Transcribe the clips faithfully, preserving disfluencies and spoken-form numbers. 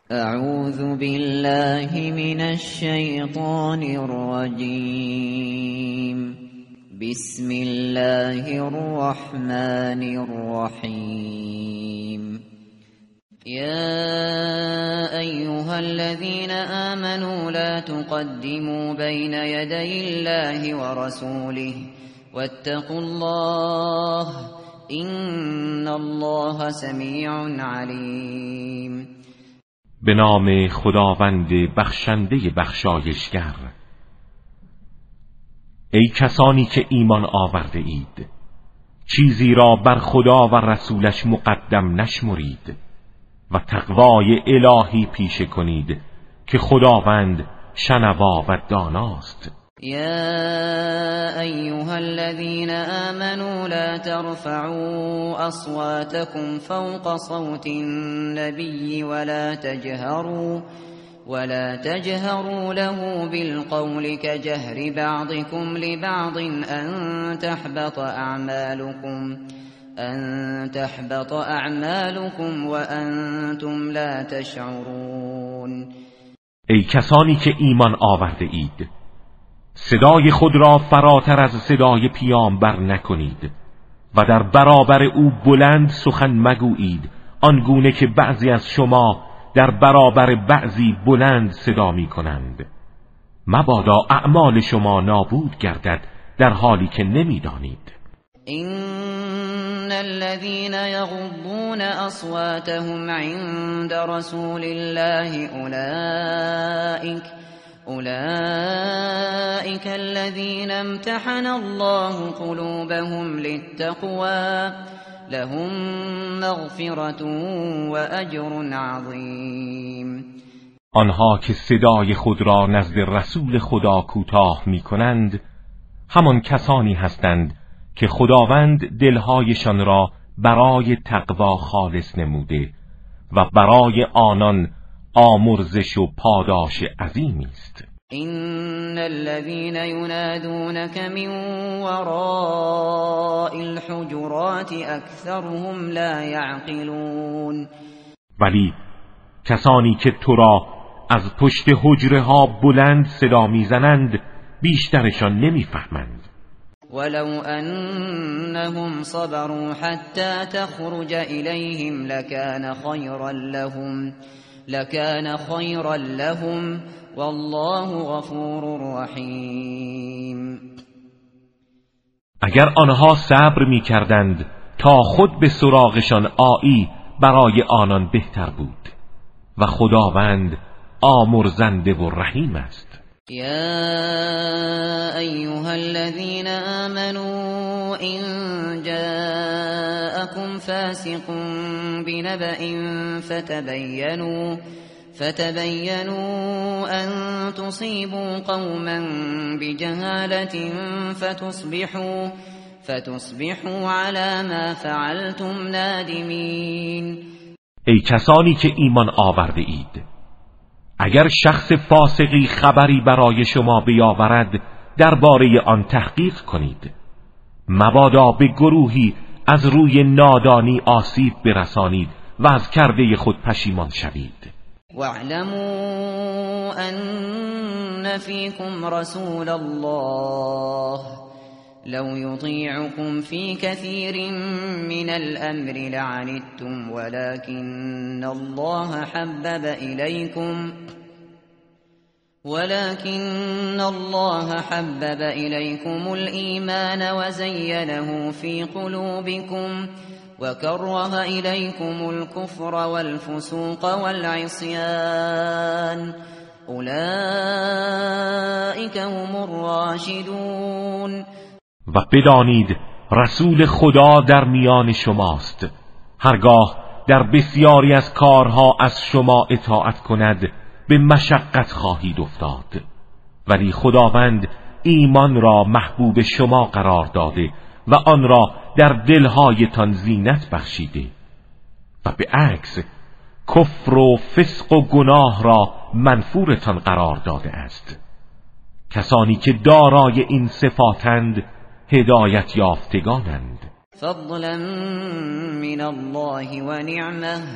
اعوذ بالله من الشیطان الرجیم. بسم الله الرحمن الرحیم. يا أيها الذين آمنوا لا تقدموا بين يدي الله ورسوله واتقوا الله إن الله سميع عليم. به نام خداوند بخشنده بخشایشگر. ای کسانی که ایمان آورده اید، چیزی را بر خدا و رسولش مقدم نشمرید و تقوای الهی پیشه کنید که خداوند شنوا و داناست. يا أيها الذين آمنوا لا ترفعوا أصواتكم فوق صوت النبي ولا تجهروا ولا تجهروا له بالقول كجهر بعضكم لبعض أن تحبط أعمالكم أن تحبط أعمالكم وأنتم لا تشعرون. ای کسانی که ایمان آورده اید، صدای خود را فراتر از صدای پیامبر نکنید و در برابر او بلند سخن مگویید، آنگونه که بعضی از شما در برابر بعضی بلند صدا می کنند. مبادا اعمال شما نابود گردد در حالی که نمی دانید. إن الذين يغضون أصواتهم عند رسول الله أولئك أولئك الذين امتحن الله قلوبهم للتقوى لهم مغفرة وأجر عظیم. آنها که صدای خود را نزد رسول خدا کوتاه می کنند همان کسانی هستند که خداوند دلهایشان را برای تقوا خالص نموده و برای آنان آمرزش و پاداش عظیمی است. إن الذين ينادونك من وراء الحجرات أكثرهم لا يعقلون. ولی کسانی که تو را از پشت حجره ها بلند صدا میزنند بیشترشان نمیفهمند. ولو أنهم صبروا حتى تخرج إليهم لكان خيرا لهم لكان خيرا لهم والله غفور رحیم. اگر آنها صبر می‌کردند تا خود به سراغشان آیی برای آنان بهتر بود و خداوند آمرزنده و رحیم است. يا أيها الذين آمنوا إن جاءكم فاسق بنبأ فتبينوا فتبينوا أن تصيبوا قوما بجهالة فتصبحوا فتصبحوا على ما فعلتم نادمين. ای کسانی که ایمان آورده اید، اگر شخص فاسقی خبری برای شما بیاورد درباره آن تحقیق کنید، مبادا به گروهی از روی نادانی آسیب برسانید و از کرده خود پشیمان شوید. واعلموا ان فيكم رسول الله لو يطيعكم في كثير من الأمر لعنتم ولكن الله حبب إليكم ولكن الله حبب إليكم الإيمان وزينه في قلوبكم وكره إليكم الكفر والفسوق والعصيان أولئك هم الراشدون. و بدانید رسول خدا در میان شماست. هرگاه در بسیاری از کارها از شما اطاعت کند به مشقت خواهید افتاد، ولی خداوند ایمان را محبوب شما قرار داده و آن را در دلهایتان زینت بخشیده و به عکس کفر و فسق و گناه را منفورتان قرار داده است. کسانی که دارای این صفاتند هدایت یافتگانند. فضلا من الله و نعمه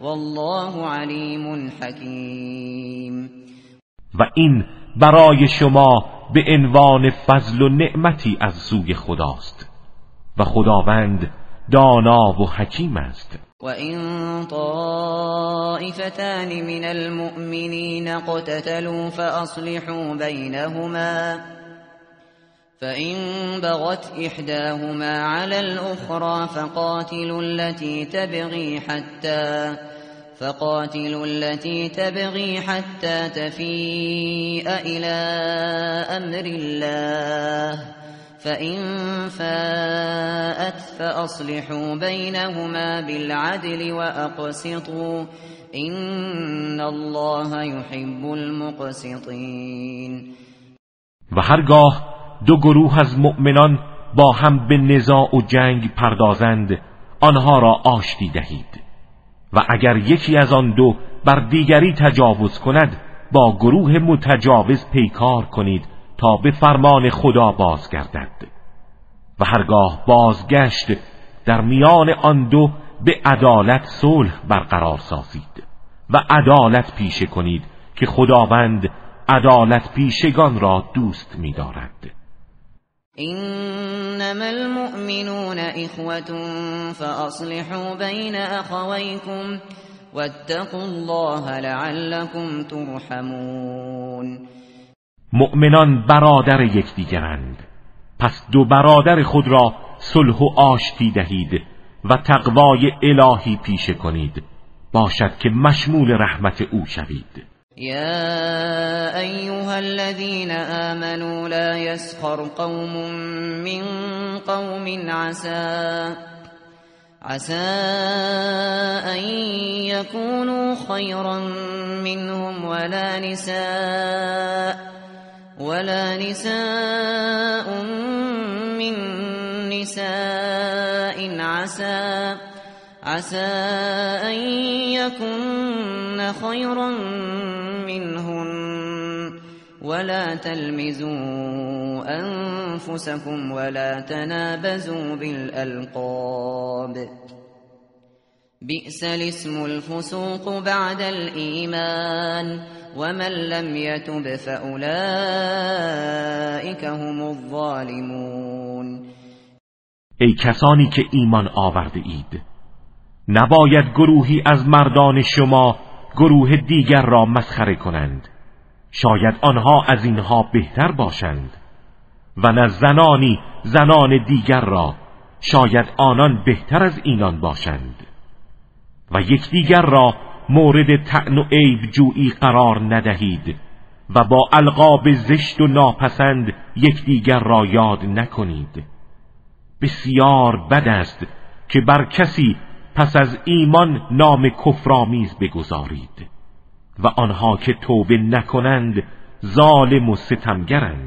والله علیم حکیم. و این برای شما به عنوان فضل و نعمتی از سوی خداست و خداوند دانا و حکیم است. وَإِن طَائِفَتَانِ مِنَ الْمُؤْمِنِينَ اقْتَتَلُوا فَأَصْلِحُوا بَيْنَهُمَا فَإِن بَغَتْ إِحْدَاهُمَا عَلَى الْأُخْرَى فَقَاتِلُوا الَّتِي تَبْغِي حَتَّى فَقَاتِلُوا الَّتِي تَبْغِي حَتَّى تَفِيءَ إِلَى أَمْرِ اللَّهِ فَإِن فَاءَتْ فَأَصْلِحُوا بَيْنَهُمَا بِالْعَدْلِ وَأَقْسِطُوا إِنَّ اللَّهَ يُحِبُّ الْمُقْسِطِينَ. و هرگاه دو گروه از مؤمنان با هم به نزاع و جنگ پردازند آنها را آشتی دهید و اگر یکی از آن دو بر دیگری تجاوز کند با گروه متجاوز پیکار کنید تا به فرمان خدا بازگردد و هرگاه بازگشت در میان آن دو به عدالت صلح برقرار سازید و عدالت پیشه کنید که خداوند عدالت پیشگان را دوست می‌دارد. انما المؤمنون اخوة فاصلحوا بین اخویکم واتقوا الله لعلكم ترحمون. مؤمنان برادر یکدیگرند، پس دو برادر خود را صلح و آشتی دهید و تقوای الهی پیشه کنید باشد که مشمول رحمت او شوید. یا ایها الذین آمنوا لا یسخر قوم من قوم عسى عسى ان يكونوا خيرا منهم ولا نساء ولا نساء من نساء عسى عسى أن يكن خيرا منهن ولا تلمزوا أنفسكم ولا تنابزوا بالألقاب بئس الاسم الفسوق بعد الإيمان ومن لم يتب فأولئك هم الظالمون. ای کسانی که ایمان آورده اید، نباید گروهی از مردان شما گروه دیگر را مسخره کنند، شاید آنها از اینها بهتر باشند، و نه زنانی زنان دیگر را، شاید آنان بهتر از اینان باشند، و یکدیگر را مورد طعن و عیب جویی قرار ندهید و با القاب زشت و ناپسند یکدیگر را یاد نکنید. بسیار بد است که بر کسی پس از ایمان نام کفرآمیز بگذارید و آنها که توبه نکنند ظالم و ستمگرند.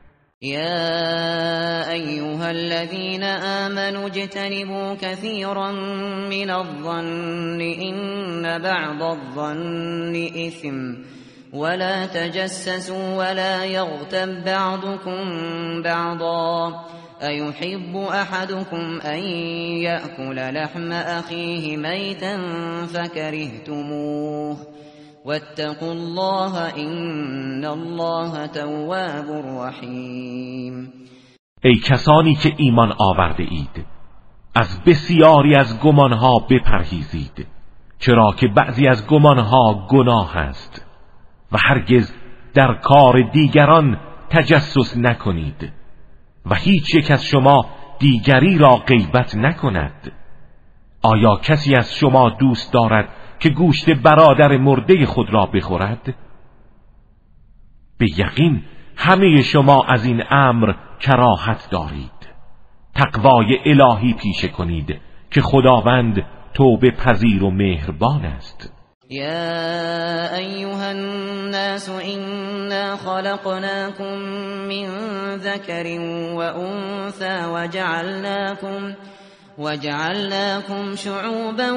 یا ایها الذین آمنوا اجتنبوا كثيرا من الظن ان بعض الظن اثم ولا تجسسوا ولا يغتب بعضكم بعضا أيحب أحدكم أن يأكل لحم أخيه ميتا فكرهتموه واتقوا الله إن الله تواب رحیم. ای کسانی که ایمان آورده اید، از بسیاری از گمانها بپرهیزید، چرا که بعضی از گمانها گناه است، و هرگز در کار دیگران تجسس نکنید و هیچ یک از شما دیگری را غیبت نکند. آیا کسی از شما دوست دارد که گوشت برادر مرده خود را بخورد؟ به یقین همه شما از این امر کراهت دارید. تقوای الهی پیشه کنید که خداوند توبه پذیر و مهربان است. يا أيها الناس إنا خلقناكم من ذكر وأنثى وجعلناكم وجعلناكم شعوبا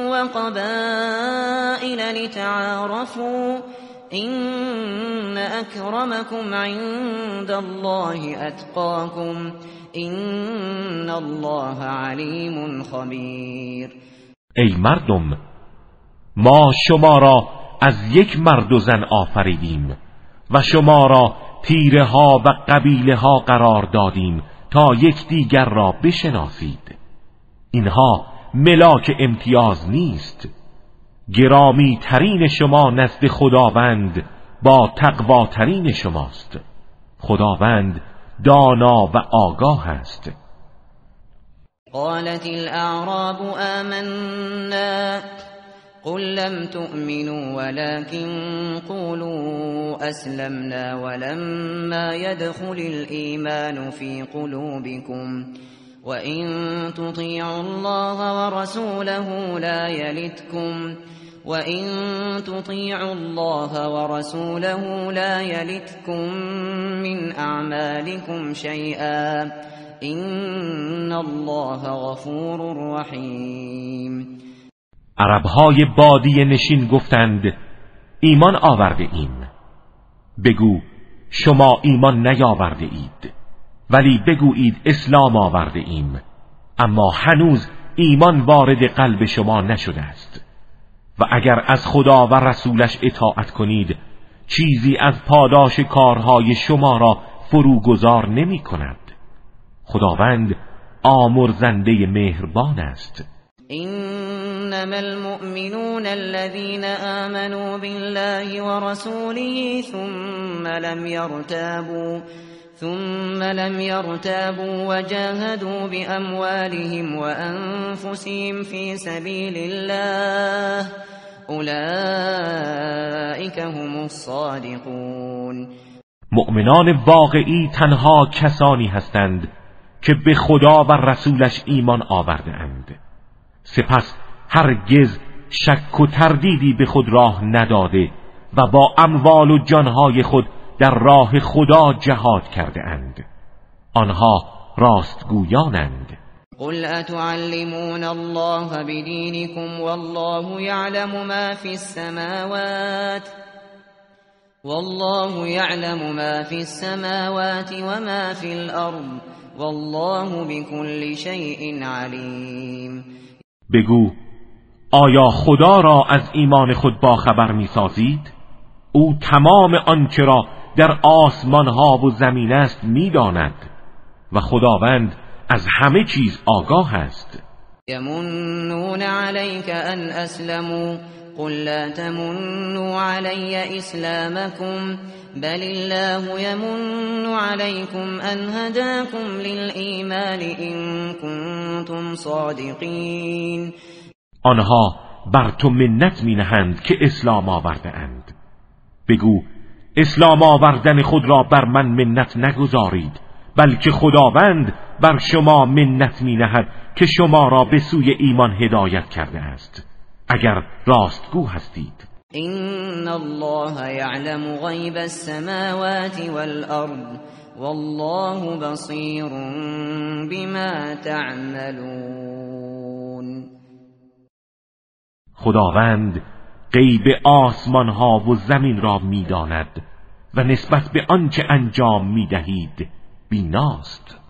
وقبائل لتعارفوا إن أكرمكم عند الله أتقاكم إن الله عليم خبير. ای مردم، ما شما را از یک مرد و زن آفریدیم و شما را تیره ها و قبیله ها قرار دادیم تا یکدیگر را بشناسید. اینها ملاک امتیاز نیست. گرامی ترین شما نزد خداوند با تقواترین شماست. خداوند دانا و آگاه است. قالت الاعراب آمنا قل لم تؤمنوا ولكن قولوا أسلمنا ولما يدخل الإيمان في قلوبكم وإن تطيعوا الله ورسوله لا يلتكم وإن تطيعوا الله ورسوله لا يلتكم من أعمالكم شيئا إن الله غفور رحيم. عربهای بادیه نشین گفتند ایمان آورده ایم. بگو شما ایمان نیاورده اید، ولی بگویید اسلام آورده ایم، اما هنوز ایمان وارد قلب شما نشده است. و اگر از خدا و رسولش اطاعت کنید چیزی از پاداش کارهای شما را فروگذار نمی کند. خداوند آمرزنده مهربان است. إنما المؤمنون الذين آمنوا بالله ورسوله ثم لم يرتابوا ثم لم يرتابوا وجاهدوا بأموالهم وأنفسهم في سبيل الله أولئك هم الصادقون. مؤمنان واقعی تنها کسانی هستند که به خدا و رسولش ایمان آورده اند، سپس هرگز شک و تردیدی به خود راه نداده و با اموال و جانهای خود در راه خدا جهاد کرده اند. آنها راستگویانند. قل اتعلمون الله بدینکم والله یعلم ما فی السماوات والله یعلم ما فی السماوات وما فی الارض والله بكل شیء علیم. بگو آیا خدا را از ایمان خود باخبر می سازید؟ او تمام آنچه را در آسمان ها و زمین است می داند و خداوند از همه چیز آگاه است. یمنون علیک ان اسلموا قل لا تمنوا علی اسلامکم بل الله يمن عليكم أن هداكم للإيمان إن كنتم صادقين. آنها بر تو منت می نهند که اسلام آورده اند. بگو اسلام آوردن خود را بر من منت نگذارید، بلکه خداوند بر شما منت می نهد که شما را به سوی ایمان هدایت کرده است اگر راستگو هستید. إن الله يعلم غيب السماوات والأرض والله بصير بما تعملون. خداوند غیب آسمان ها و زمین را می داند و نسبت به آنچه انجام می دهید بیناست.